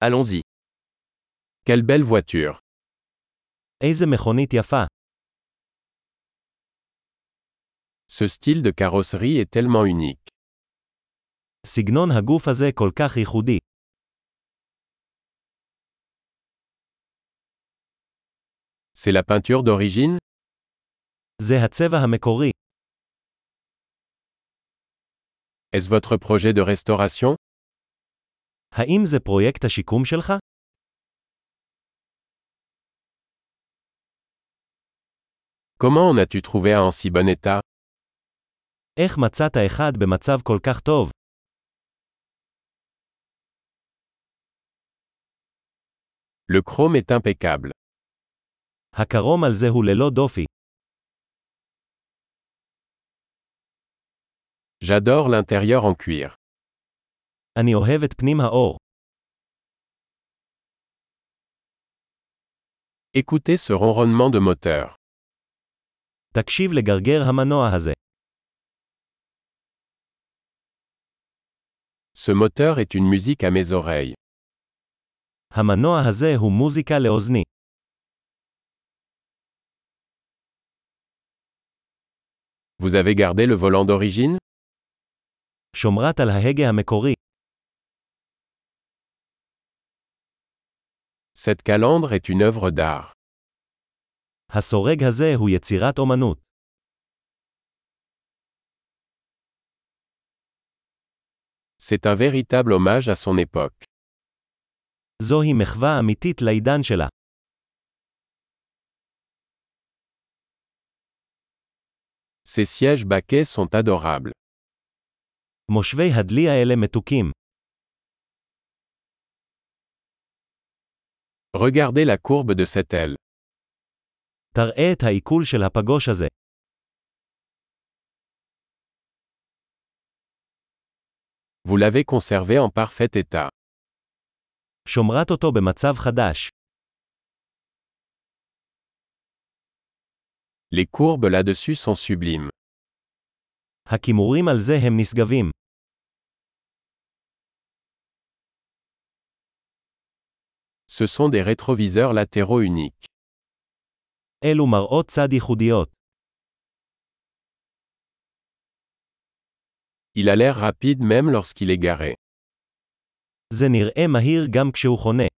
Allons-y. Quelle belle voiture. איזה מכונית יפה. Ce style de carrosserie est tellement unique. סגנון הגוף הזה כל כך ייחודי. C'est la peinture d'origine? זה הצבע המקורי. Est-ce votre projet de restauration? האם זה פרויקט השיקום שלך? Comment en as-tu trouvé un en si bon état? איך מצאת אחד במצב כל כך טוב? Le chrome est impeccable. הקרום על זה הוא ללא דופי. J'adore l'intérieur en cuir. אני אוהב את פנים האור. Écoutez ce ronronnement de moteur. תקשיב לגרגר המנוע הזה. Ce moteur est une musique à mes oreilles. המנוע הזה הוא מוזיקה לאוזני. Vous avez gardé le volant d'origine? שומרת על ההגה המקורי. Cette calandre est une œuvre d'art. הסורג הזה הוא יצירת אומנות. C'est un véritable hommage à son époque. זוהי מחווה אמיתית לעידן שלה. Ces sièges baquets sont adorables. מושבי הדלי האלה מתוקים. Regardez la courbe de cette aile. תראה את העיכול של הפגוש הזה. Vous l'avez conservé en parfait état. שומרת אותו במצב חדש. Les courbes là-dessus sont sublimes. הכימורים על זה הם נשגבים. Ce sont des rétroviseurs latéraux uniques. אלו מראות צד ייחודיות. Il a l'air rapide même lorsqu'il est garé. זה נראה מהיר גם כשהוא חונה.